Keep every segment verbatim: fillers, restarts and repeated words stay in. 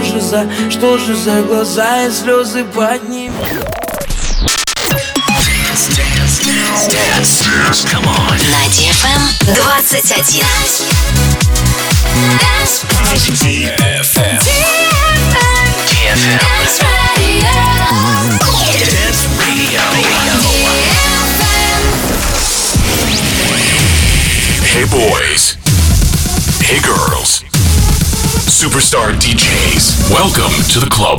же за, что же за глаза и слезы под ними? На ди эф эм двадцать один. ди эф эм. ди эф эм. Dance Radio. Hey boys. Hey girls. Superstar ди джейс. Welcome to the club.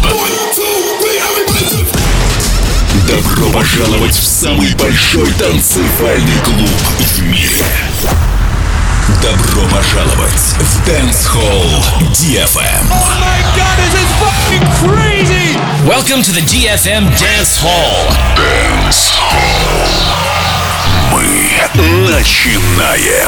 Добро пожаловать в самый большой танцевальный клуб в мире. Добро пожаловать в Dance Hall ди эф эм. Oh my God, this is fucking crazy! Welcome to the ди эф эм Dance Hall. Dance Hall. Мы начинаем.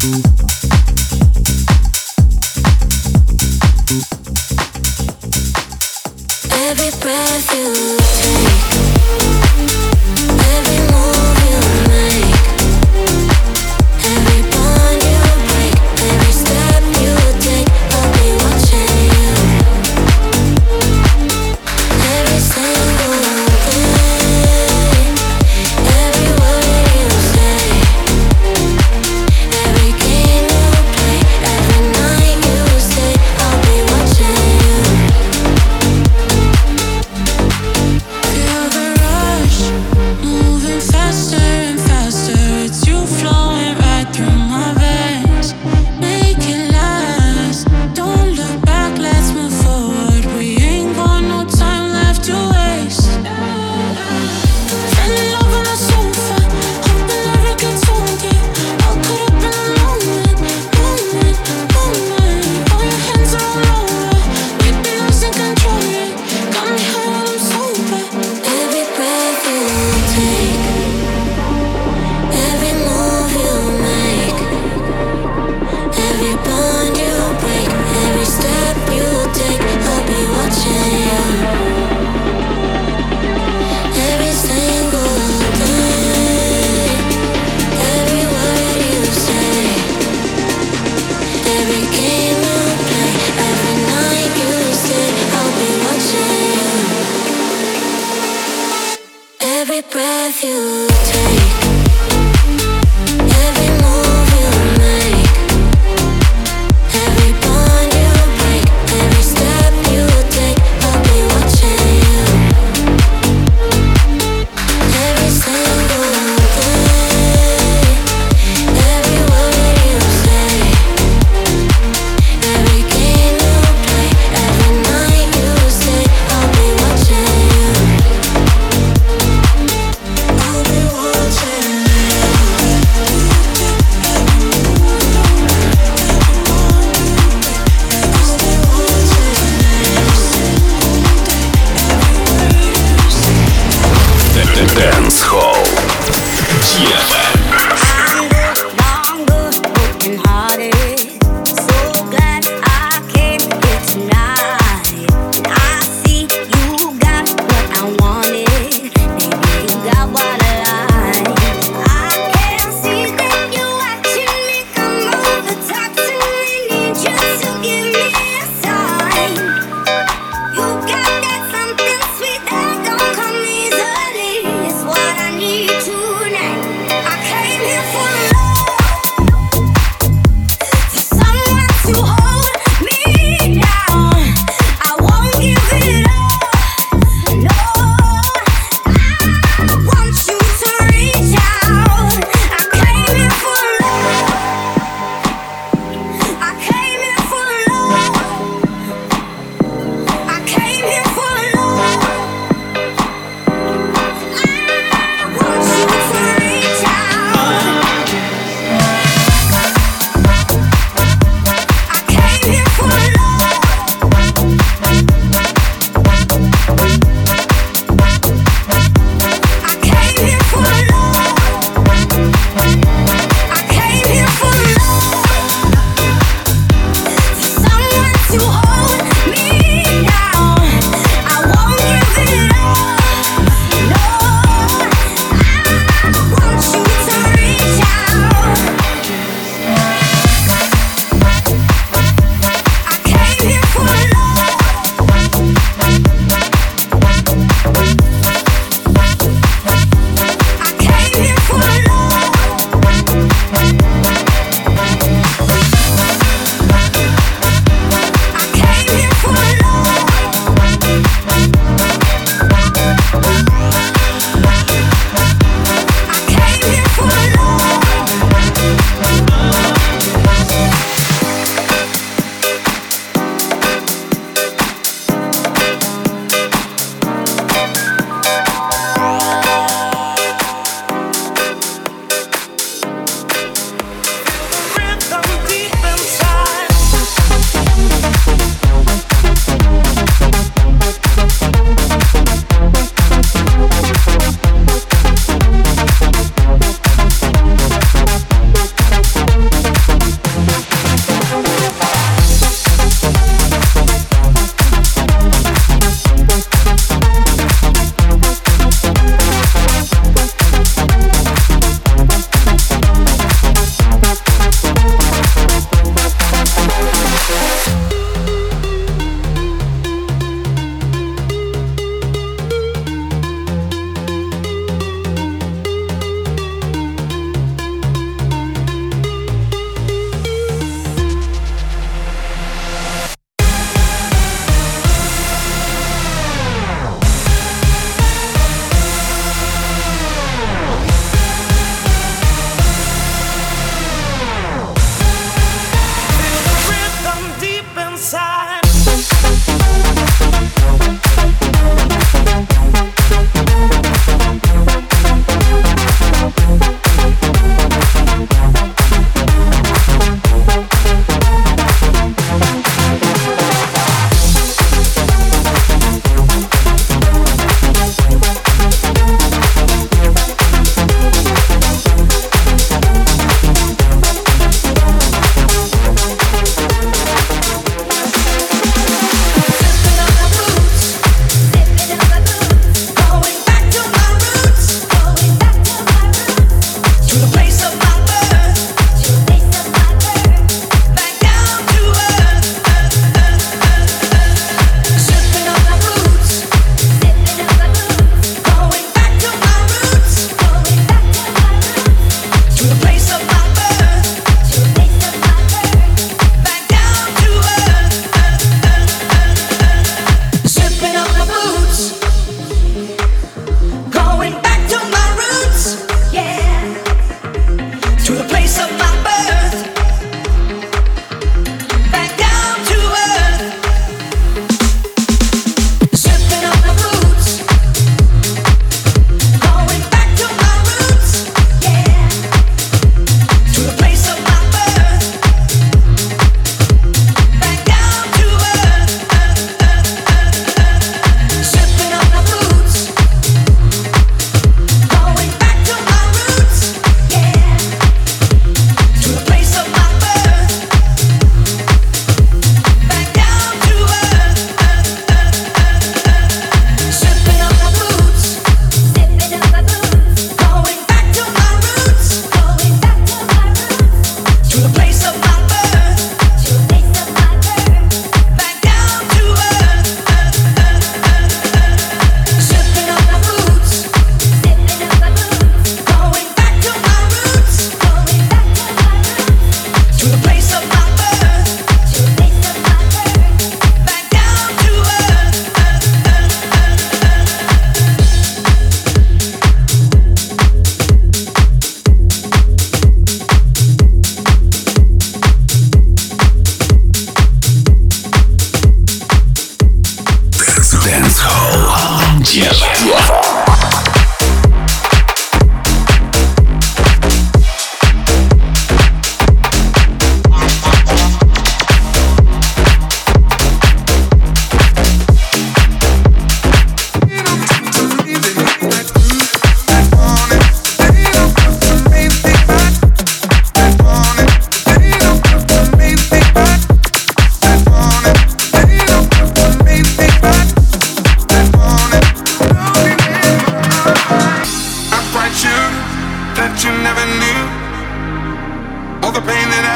I'll be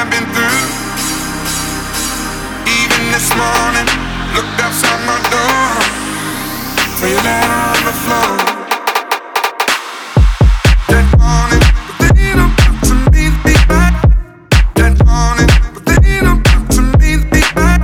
I've been through. Even this morning, looked outside my door, saw you laying on the floor. That morning, but they don't come to me, be back. That morning, but they don't come to me, be back.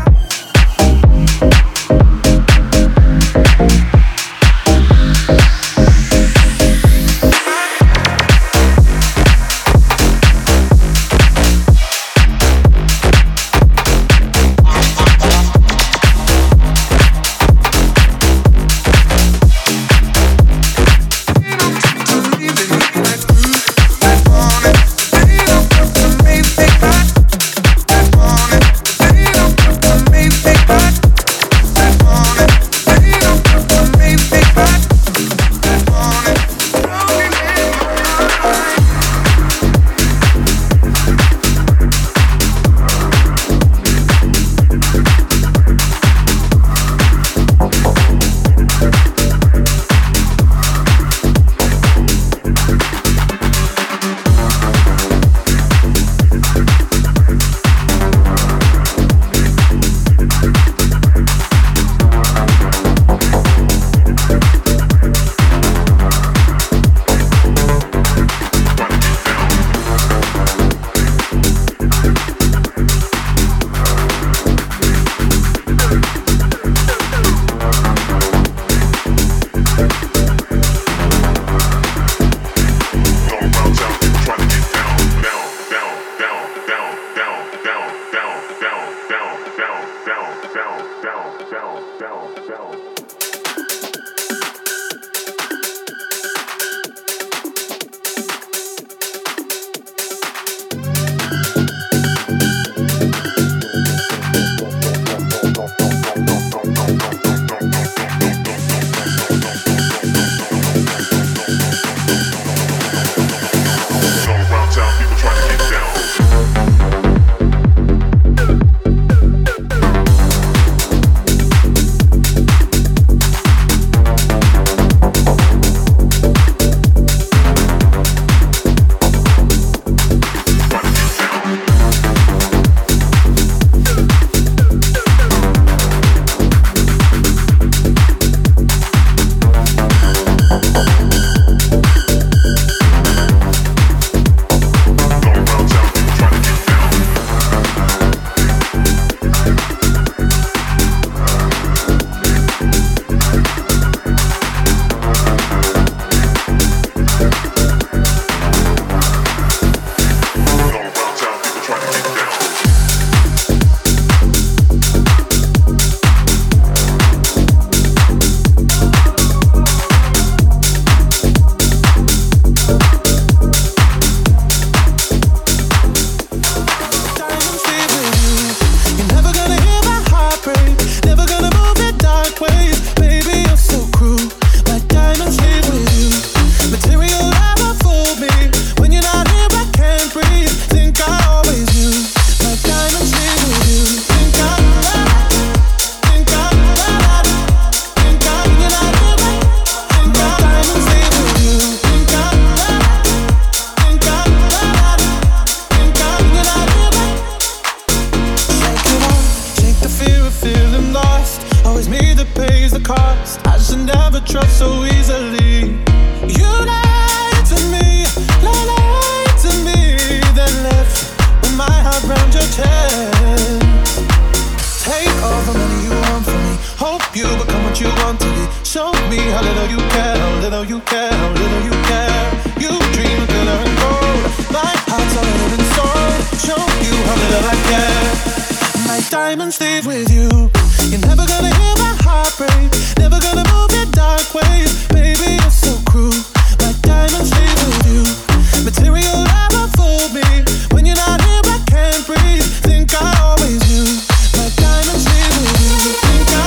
Diamonds leave with you. You're never gonna hear my heart break. Never gonna move in dark ways. Baby, you're so cruel. My diamonds leave with you. Material never fooled me. When you're not here, I can't breathe. Think I always knew. My diamonds leave with you. Think I,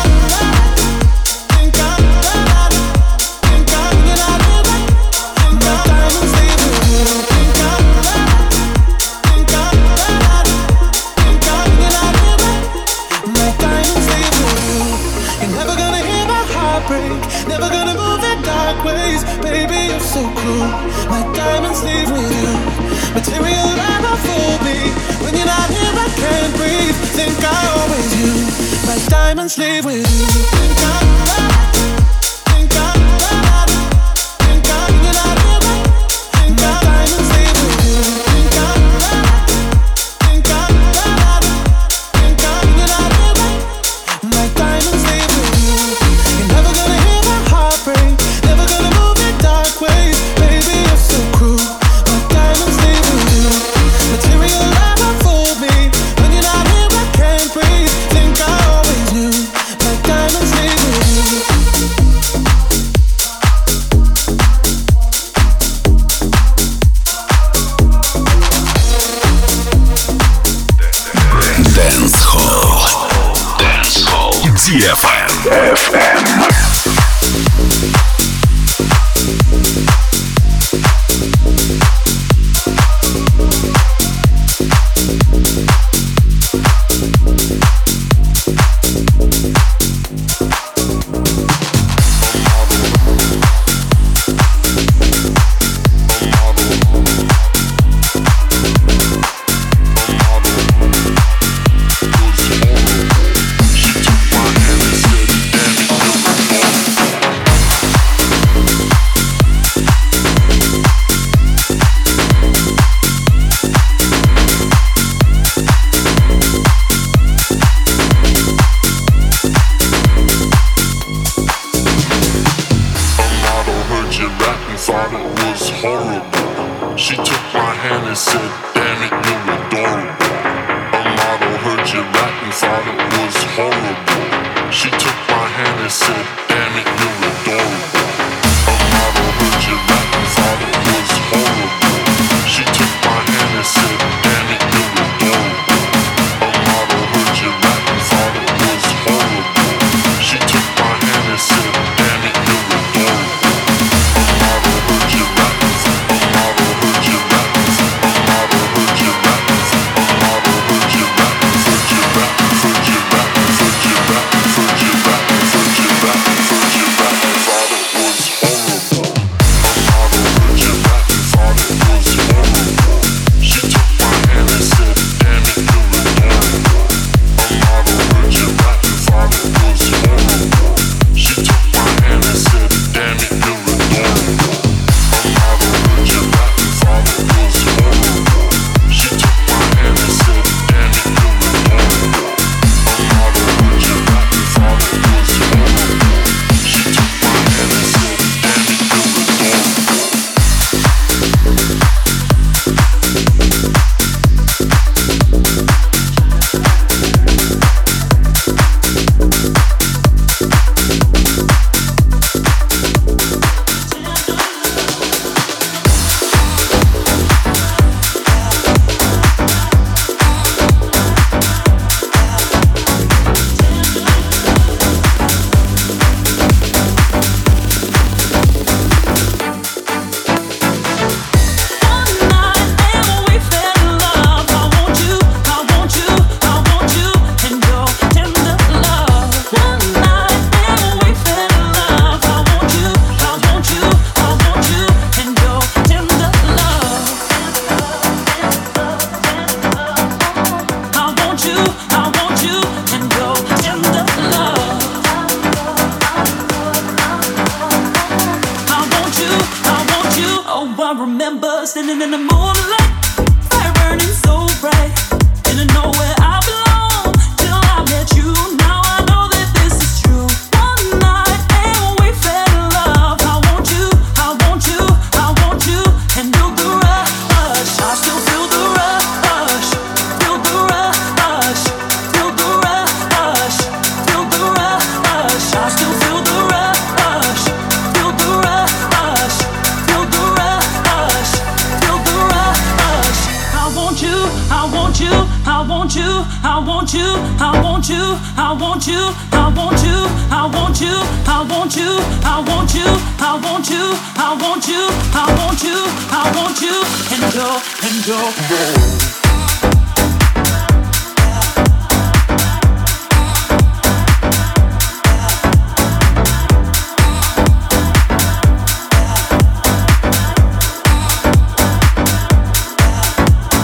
think I, think I, when you're not here, think my diamonds leave with you. Think I, think I, think I, when you're not here. My diamonds leave with you. You're never gonna hear my heart break. Never gonna move in dark ways. Baby, you're so cruel. My diamonds leave with you. Material never fooled me. When you're not here. diamond slave with you. Think I'm right, think I'm right, think I'm right, think I'm diamond slave with you. Think I'm right, think I'm right, think I'm right, my diamond slave with you. You're never gonna hear my heart break, never gonna move in dark ways. Baby, you're so cruel, my diamond slave with you. Material love unfold me, when you're not here I can't breathe. Think I always knew, my diamond slave with you. Dance Hall. Dance Hall. ди эф эм. эф эм.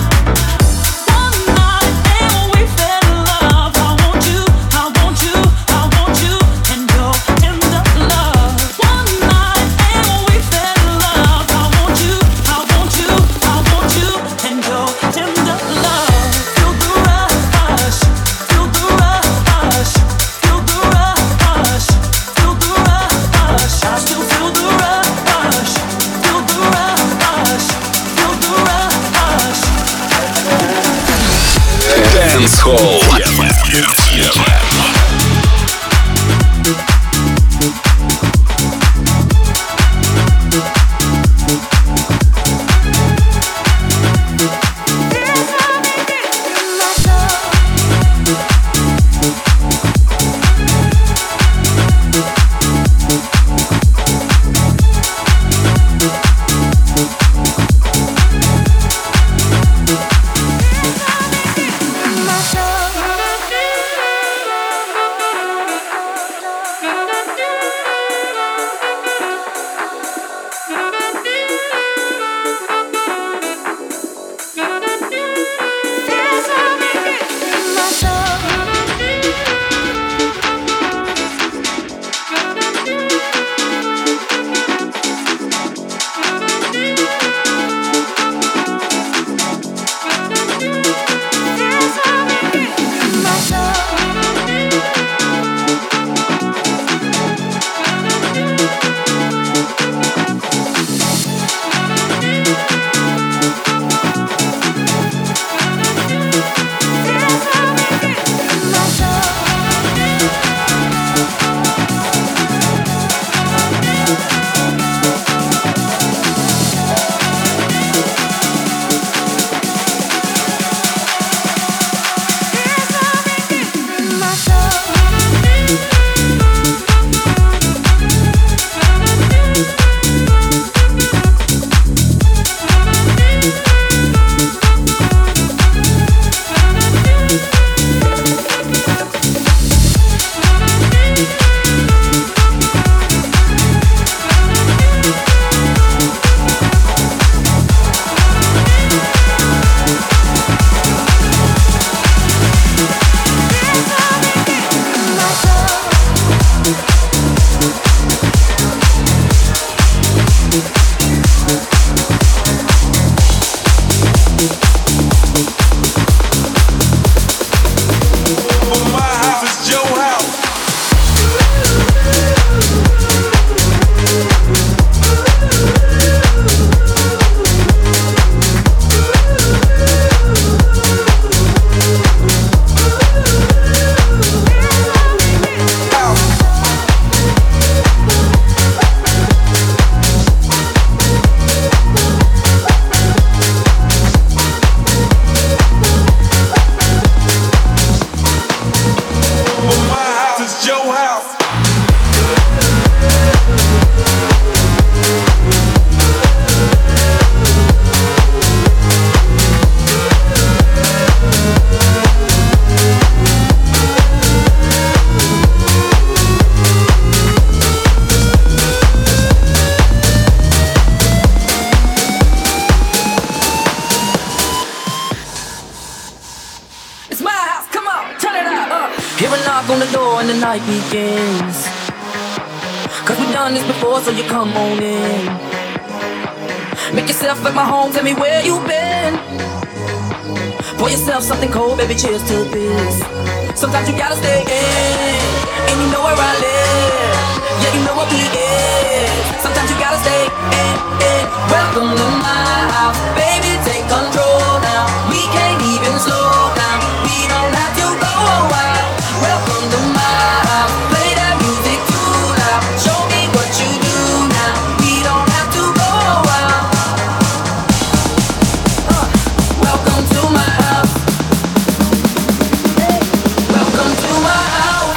One night and we fell in love. I want you, I want you. Hall ди эф эм. night begins. Cause we've done this before, so you come on in. Make yourself at my home, tell me where you've been. Pour yourself something cold, baby, cheers to this. Sometimes you gotta stay in, and you know where I live. Yeah, you know what we is. Sometimes you gotta stay in, in. Welcome to my house, baby, take control now. We can't even slow down, we don't have to go wild. Welcome to my house, play that music too loud. Show me what you do now, we don't have to go wild. uh, Welcome to my house, hey. Welcome to my house.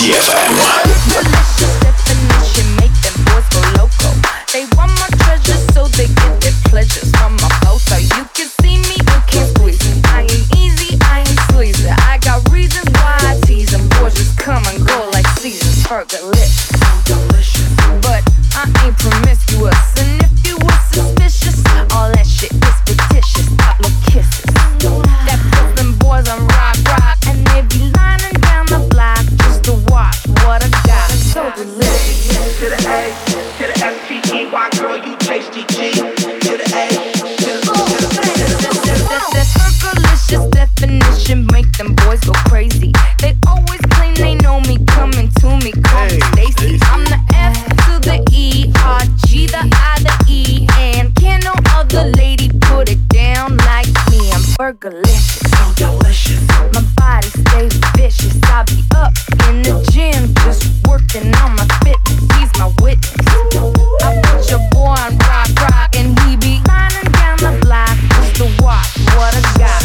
ди эф эм. Delicious definition, make them boys go loco. They want my treasures, so they get their pleasures from my photo. You can see me, you can't squeeze me. I ain't easy, I ain't sleazy. I got reasons why I tease them. Boys just come and go like seasons. Fergalicious, but I ain't promiscuous. And if you were suspicious, all that shit is fictitious. Pop no kisses. That puts them boys on rock, rock, and they be lining down the block just to watch what I got. So delicious. To the A, to the S T E Y, girl, you tasty G. To the A, to the That's Fergalicious definition, make them boys go crazy. They always claim they know me, coming to me, call me Stacy. I'm the F to the E, R, G, the I, the E, and can't no other lady put it down like me. I'm Fergalicious, so delicious. My body stays vicious. I be up in the gym, just working on my fitness. He's my witness. I put your boy on rock, rock, and he be lining down the block just to watch what I got.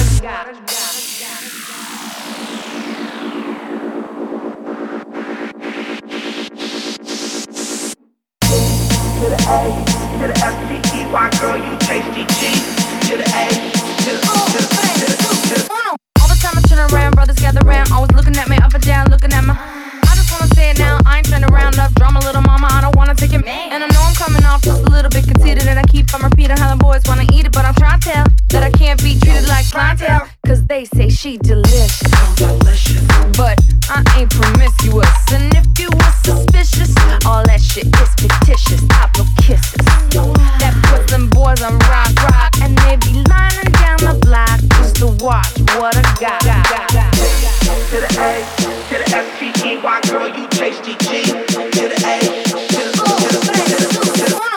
to the A, to the S T E Y, girl, you tasty G. To the A, to the to the to the to the. All the time I turn around, brothers gather round, always looking at me up and down, looking at my. I just wanna say it now, I ain't trying to round up drama, little mama, I don't wanna take it. And I know I'm coming off just a little bit conceited, and I keep on repeating how the boys wanna eat it, but I'm trying to tell that I can't be treated like clientele, cause they say she delicious, delicious. But I ain't promiscuous, and if you were suspicious, all that shit is fictitious. I blow kisses, that puts them boys on rock, rock, and they be lining down the block just to watch what I got. To the A, to the S T E Y, girl, you tasty G. To the A, to the to the to the to the.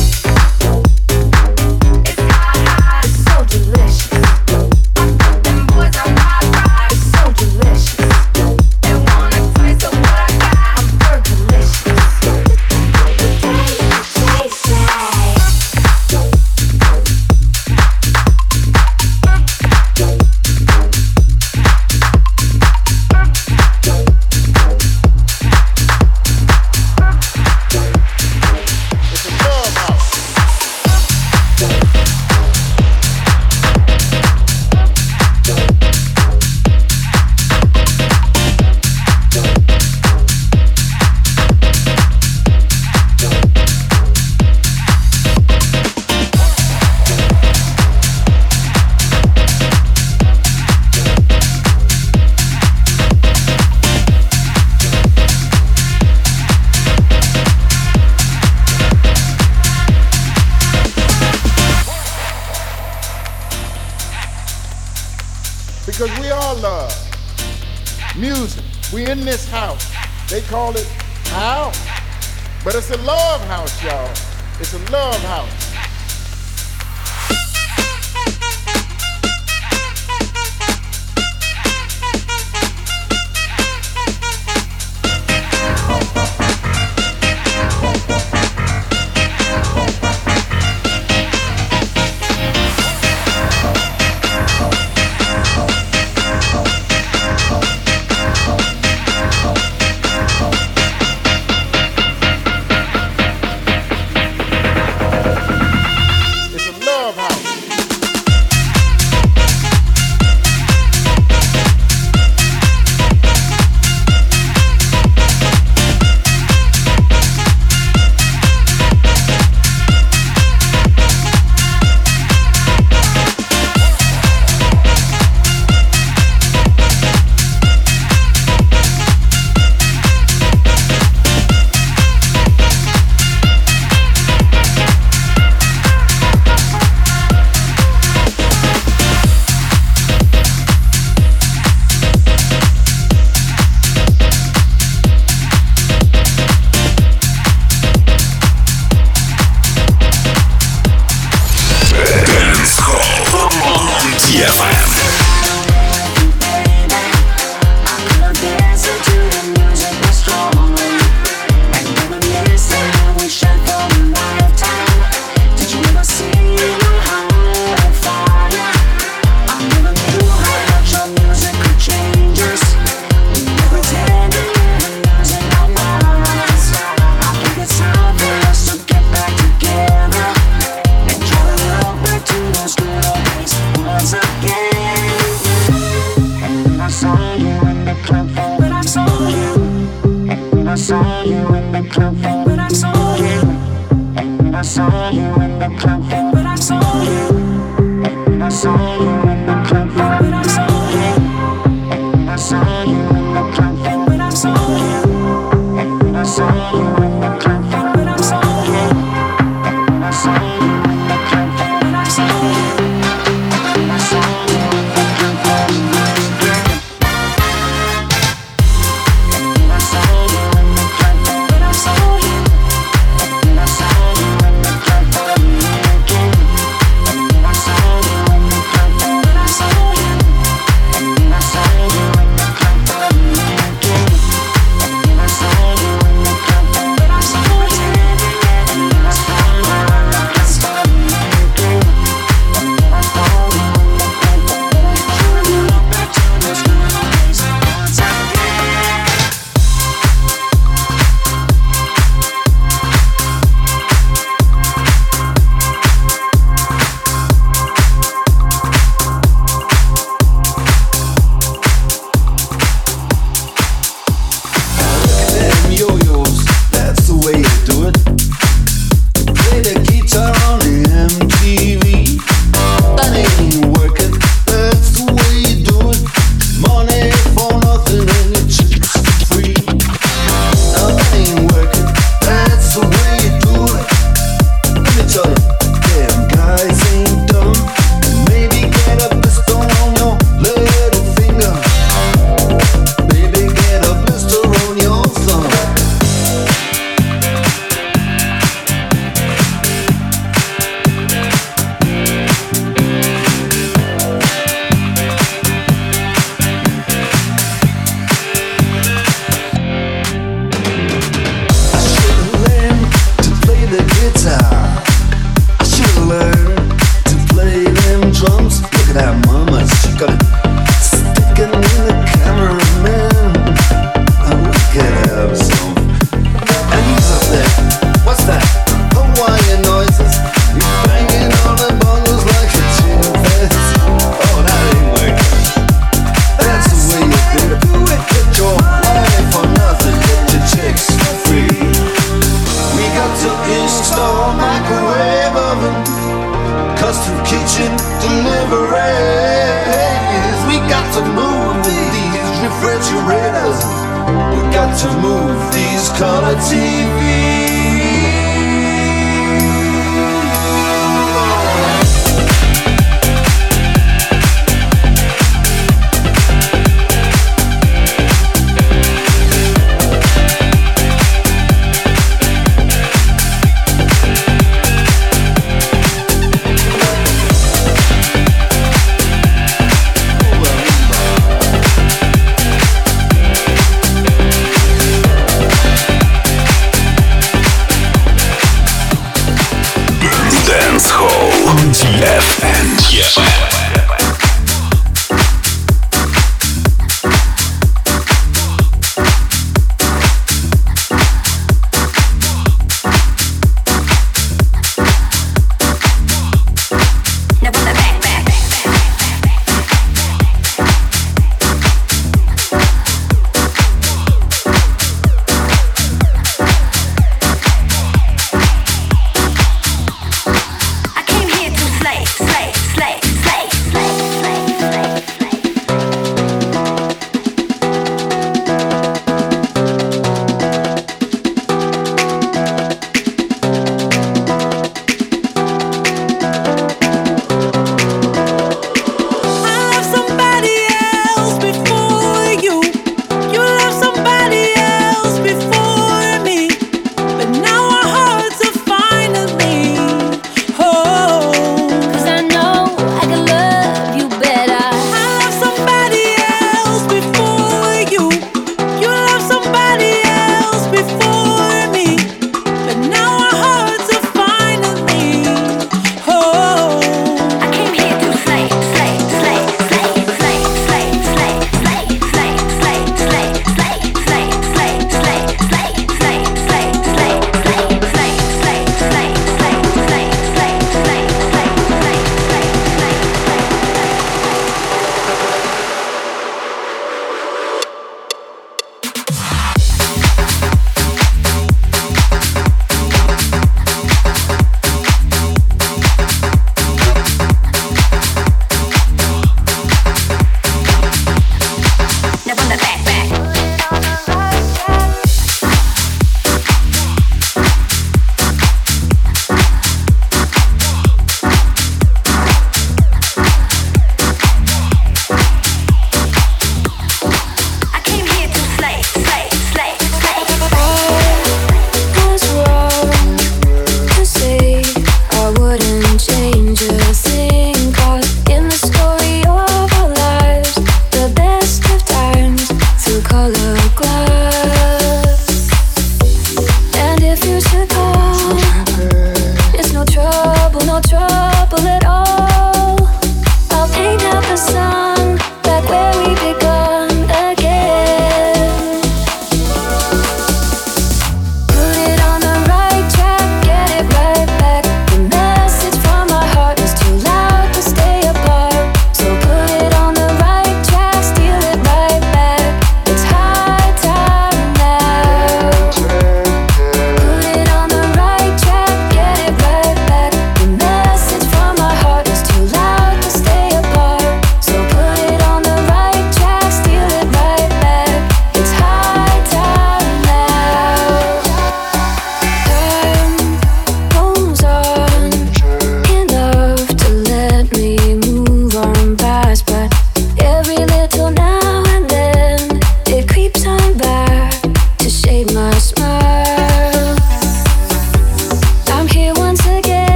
It's hot, hot, it's so delicious. I put them boys on rock, rock, it's so delicious. They wanna taste of what I got. I'm Fergalicious. Because we all love music. We in this house. They call it house. But it's a love house, y'all. It's a love house.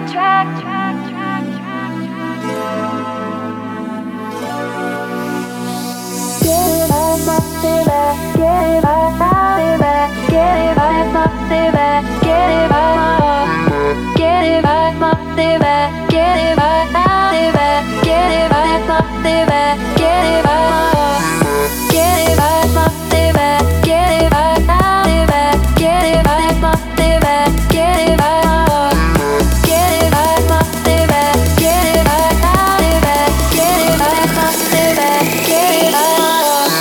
track, track, track, track, track. Get it back, my baby. Get it back, my baby. Get it back, my baby. Get it back, my. Get it back, my baby. Get it back, my baby. Get it back, my baby. Get it back, my. Get it back, my baby. Get it back, my baby. Get it back, my baby. Get it back, my. Get it back, my baby. Get it back, my baby. Get it back, my baby. Get it back.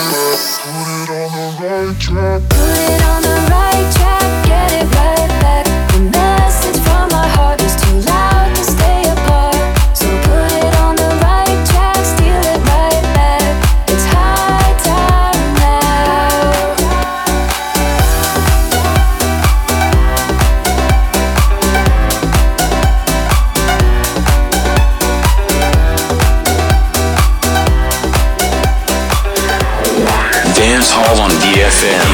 Put it on the right track. Get it right back. The message from my heart is too loud to stay apart. So put it on the right track. Steal it right back. It's high time now. Dance Hall on D F M.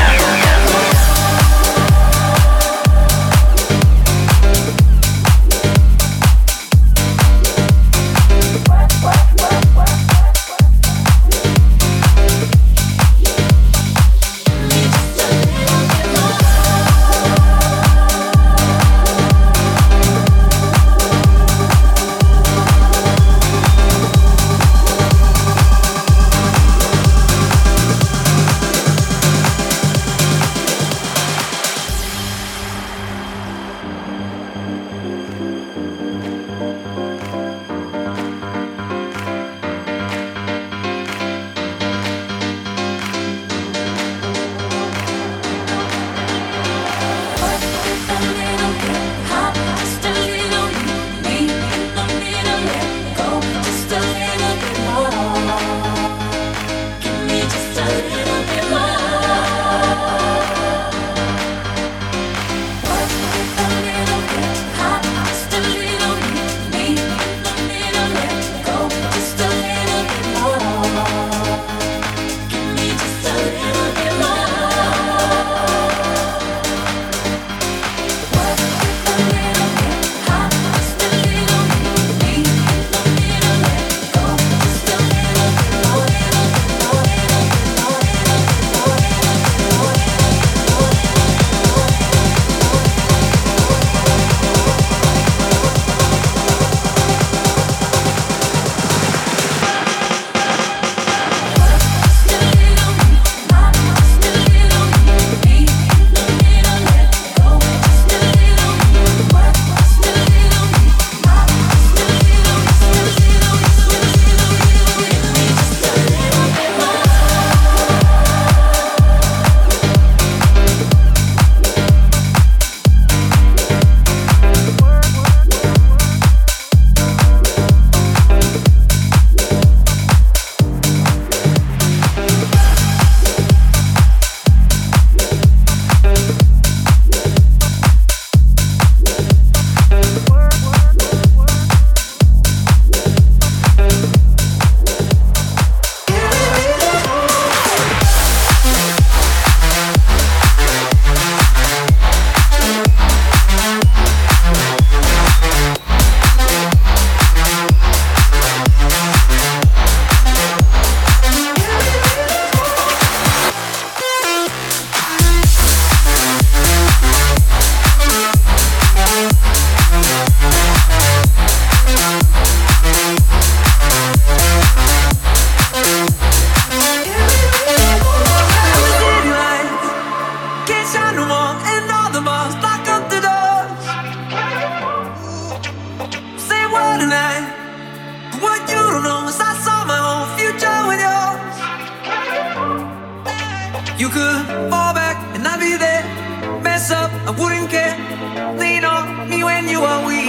You could fall back and I'd be there. Mess up, I wouldn't care. Lean on me when you are weak.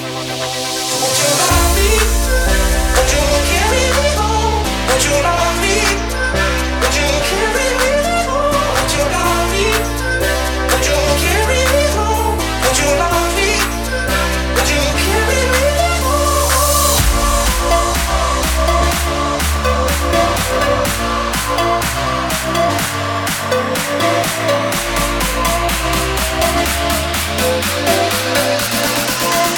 Would you love me? Would you carry me home? Would you love me? Would you carry me home? Would you love me? Would you carry me home? Would you love me? Would you carry me home?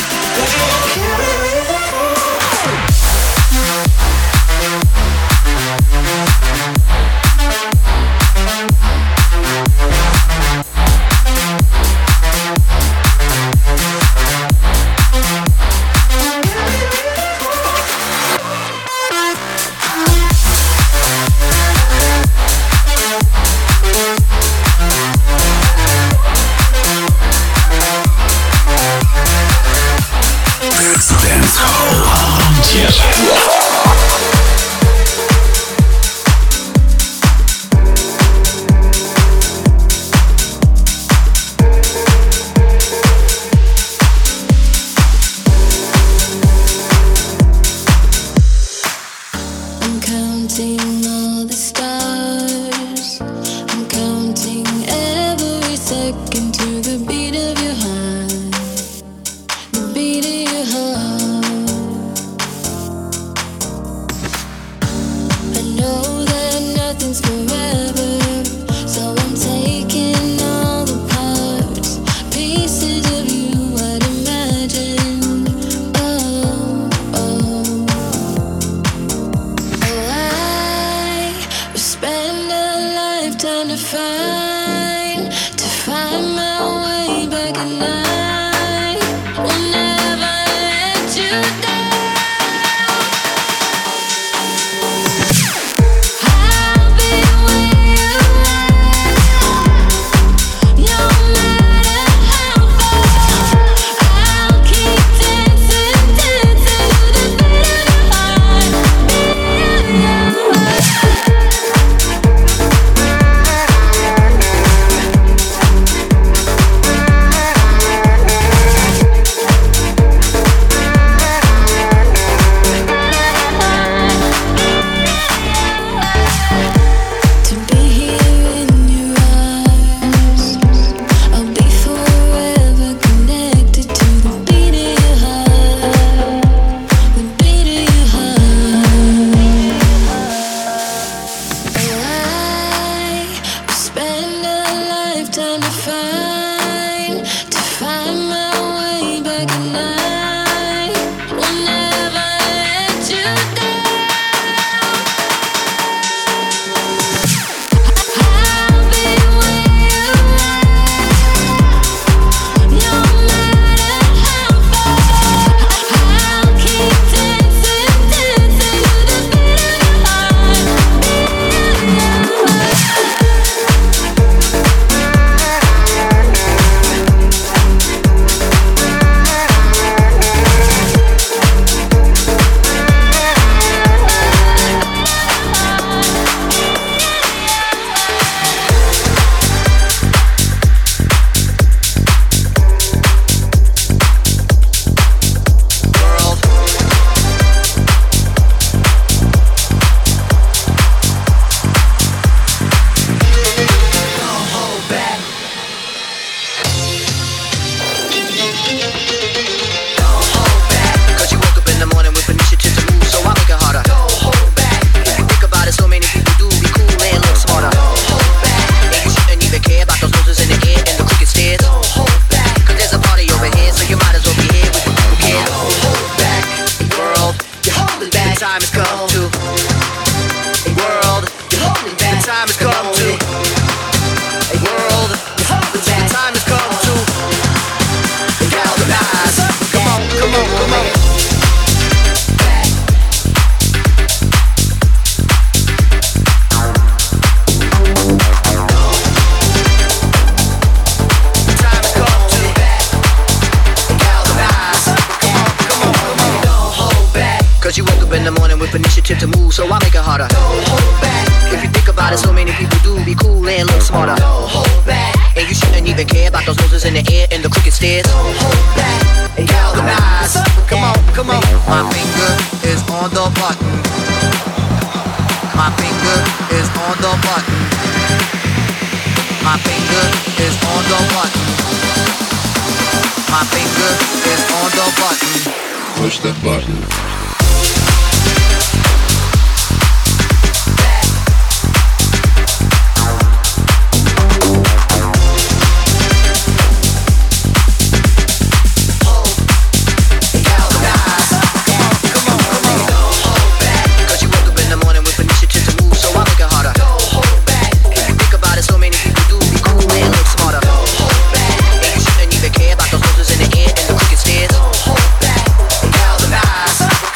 Those in the air and the crooked stairs. Don't hold back. Galvanize.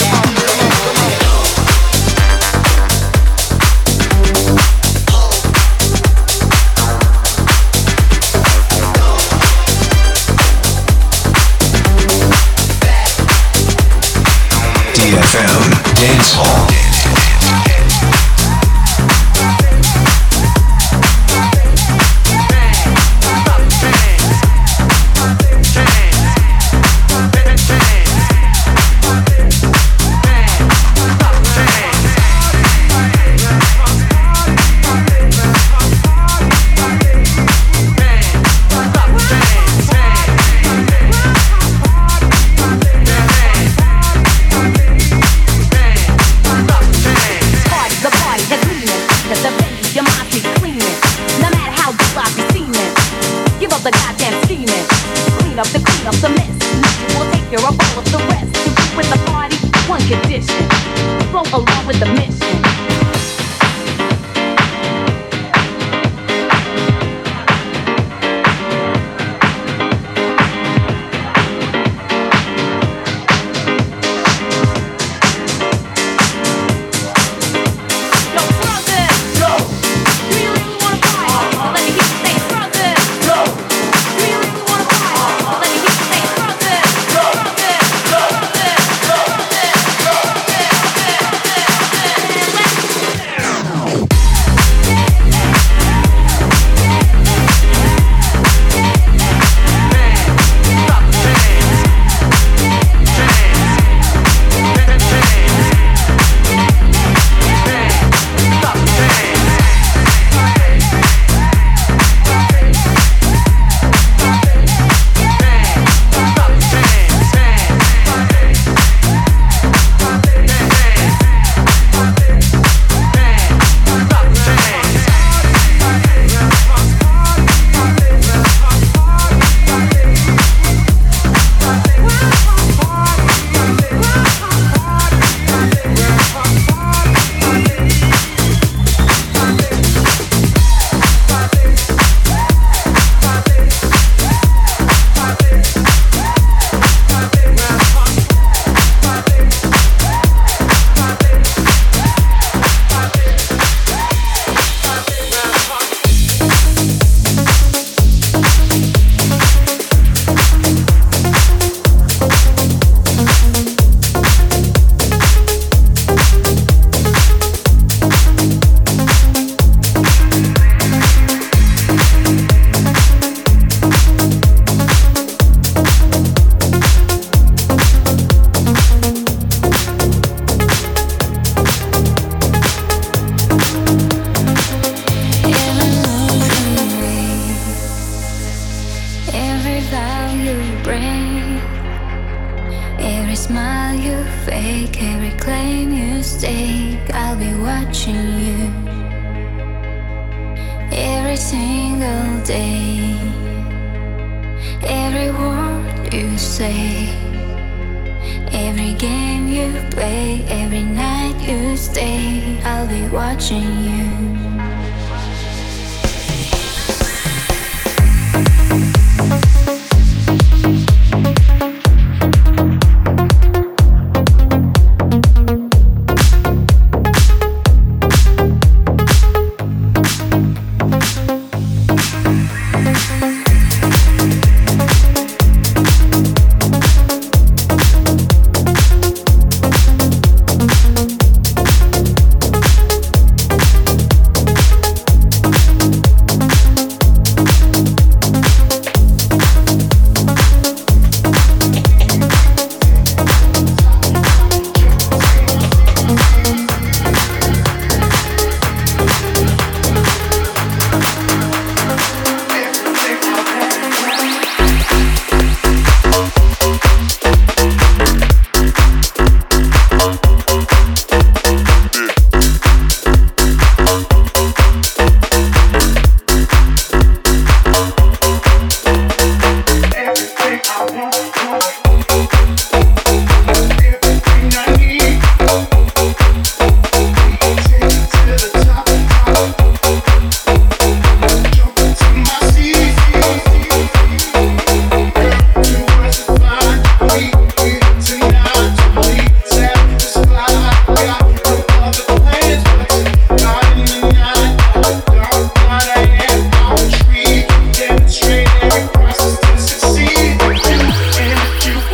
эф эм Dance Hall. Everything I want.